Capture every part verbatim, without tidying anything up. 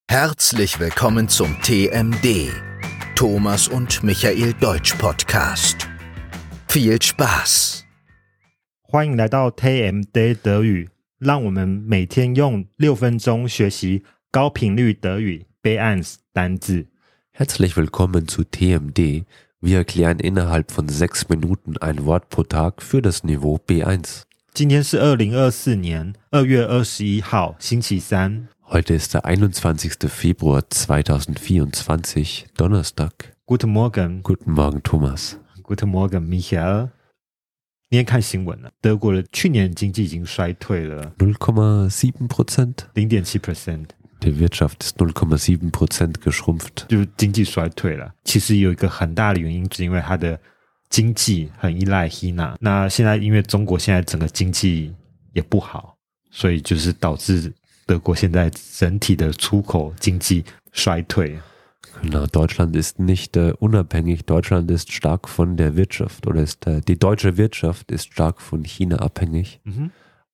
Herzlich willkommen zum T M D, Thomas und Michael Deutsch Podcast. Viel Spaß! 歡迎來到 T M D 德語，讓我們每天用六分鐘學習高頻率德語 B eins 單字。 Herzlich willkommen zu T M D. Wir erklären innerhalb von sechs Minuten ein Wort pro Tag für das Niveau B eins. 今天是二零二四年二月二十一號，星期三。 Heute ist der einundzwanzigster Februar zweitausendvierundzwanzig, Donnerstag. Guten Morgen. Guten Morgen, Thomas. Guten Morgen, Michael. 今天看新聞了，德國的去年經濟已經衰退了 null Komma sieben Prozent. 零點七 percent。 Die Wirtschaft ist null Komma sieben Prozent geschrumpft. 就經濟衰退了。其實有一個很大的原因，是因為它的經濟很依賴 China。那現在因為中國現在整個經濟也不好，所以就是導致德國現在整體的出口經濟衰退。 Genau, Deutschland ist nicht äh, unabhängig. Deutschland ist stark von der Wirtschaft oder ist äh, die deutsche Wirtschaft ist stark von China abhängig. Mhm.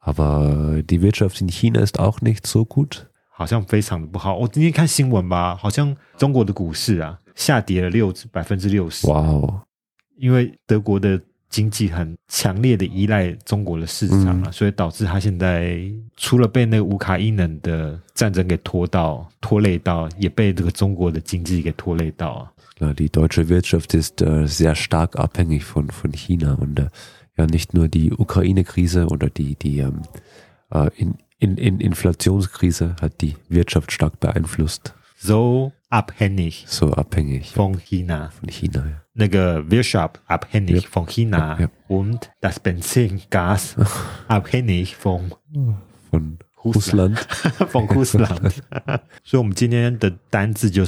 Aber die Wirtschaft in China ist auch nicht so gut. 好像非常的不好。我今天看新聞吧，好像中國的股市啊下跌了六百分之六十。 哇哦！ 因為德國的經濟很強烈的依賴中國的市場啊，嗯、所以導致他現在除了被那個烏克蘭的戰爭給拖到拖累到，也被這個中國的經濟給拖累到啊。 Die deutsche Wirtschaft ist äh, sehr stark abhängig von von China und äh, ja nicht nur die Ukraine-Krise oder die die ähm, äh, in, in, in Inflationskrise hat die Wirtschaft stark beeinflusst. So abhängig. So abhängig. Von China. Von China, ja. 那個 Wirtschaft abhängig ja. von China ja. und das Benzingas abhängig von von Russland. von Russland. 所以我們今天的單字就是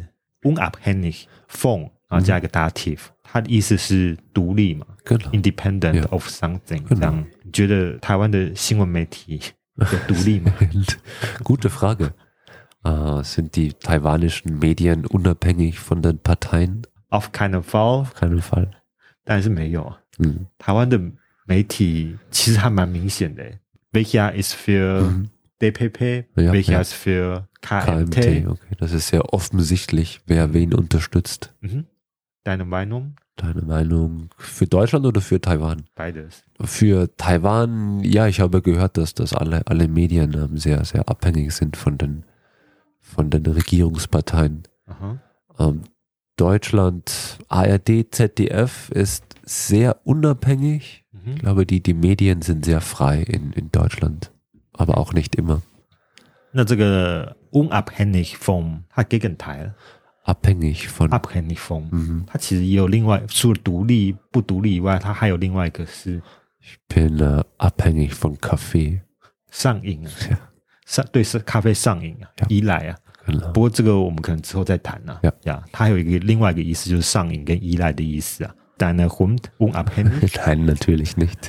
unabhängig von 然後加一個 dative， 它的意思是獨立嘛 independent of something。這樣，你覺得台灣的新聞媒體有獨立嗎？ Gute Frage. Uh, sind die taiwanischen Medien unabhängig von den Parteien? Auf keinen Fall. Auf keinen Fall. 當然是沒有啊。 嗯， 台灣的媒體其實還蠻明顯的。Welcher ist für D P P? Ja, Welcher ja. ist für K M T? K M T, okay. Das ist sehr offensichtlich, wer wen unterstützt. Mhm. Deine Meinung? Deine Meinung für Deutschland oder für Taiwan? Beides. Für Taiwan, ja, ich habe gehört, dass das alle, alle Medien ähm, sehr, sehr abhängig sind von den von den Regierungsparteien. Ähm, Deutschland, A R D, Z D F ist sehr unabhängig. Mhm. Ich glaube, die, die Medien sind sehr frei in, in Deutschland, aber auch nicht immer. 那這個 unabhängig vom 它 Gegenteil abhängig von abhängig vom 嗯， 它其實也有另外除了獨立不獨立以外，它還有另外一個是 Ich bin uh, abhängig von Kaffee. 上癮啊。 Ja. 上對是咖啡上癮啊，依賴啊。不過這個我們可能之後再談啊。呀、yeah. ，它還有一個另外一個意思，就是上癮跟依賴的意思啊。Deine Hund unabhängig? Nein, natürlich nicht.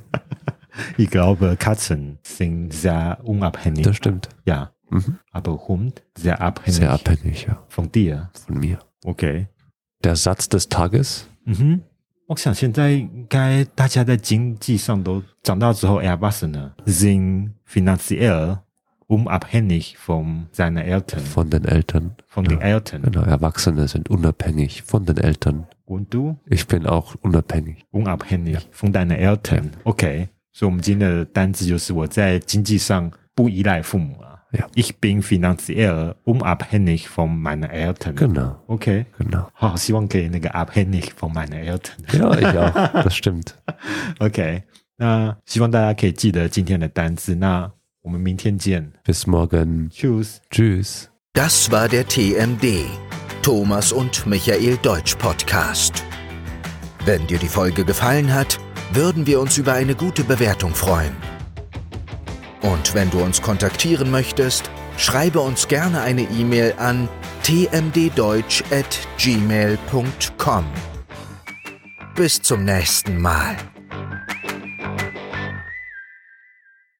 Ich glaube, Katzen sind sehr unabhängig. Das stimmt. Ja, mhm. aber Hund sehr abhängig. Sehr abhängig, ja. Von dir? Von mir. Okay. Der Satz des Tages? 嗯哼，我想現在應該大家在經濟上都長大之後 Erwachsene sind finanziell unabhängig von seinen Eltern. Von den Eltern. Von den ja, Eltern. Genau, Erwachsene sind unabhängig von den Eltern. Und du? Ich bin auch unabhängig. Unabhängig ja. von deinen Eltern. Ja. Okay. 所以我們今天的單字就是我在經濟上不依賴父母啊。 Ja. Ich bin finanziell unabhängig von meinen Eltern. Genau. Okay. Genau. 好，希望可以那個 abhängig von meinen Eltern. Ja, ich auch. Das stimmt. Okay. 那希望大家可以記得今天的單字。那我們明天見。 Bis morgen. Tschüss. Tschüss. Das war der T M D, Thomas und Michael Deutsch Podcast. Wenn dir die Folge gefallen hat, würden wir uns über eine gute Bewertung freuen. Und wenn du uns kontaktieren möchtest, schreibe uns gerne eine E-Mail an t m d deutsch at gmail punkt com. Bis zum nächsten Mal.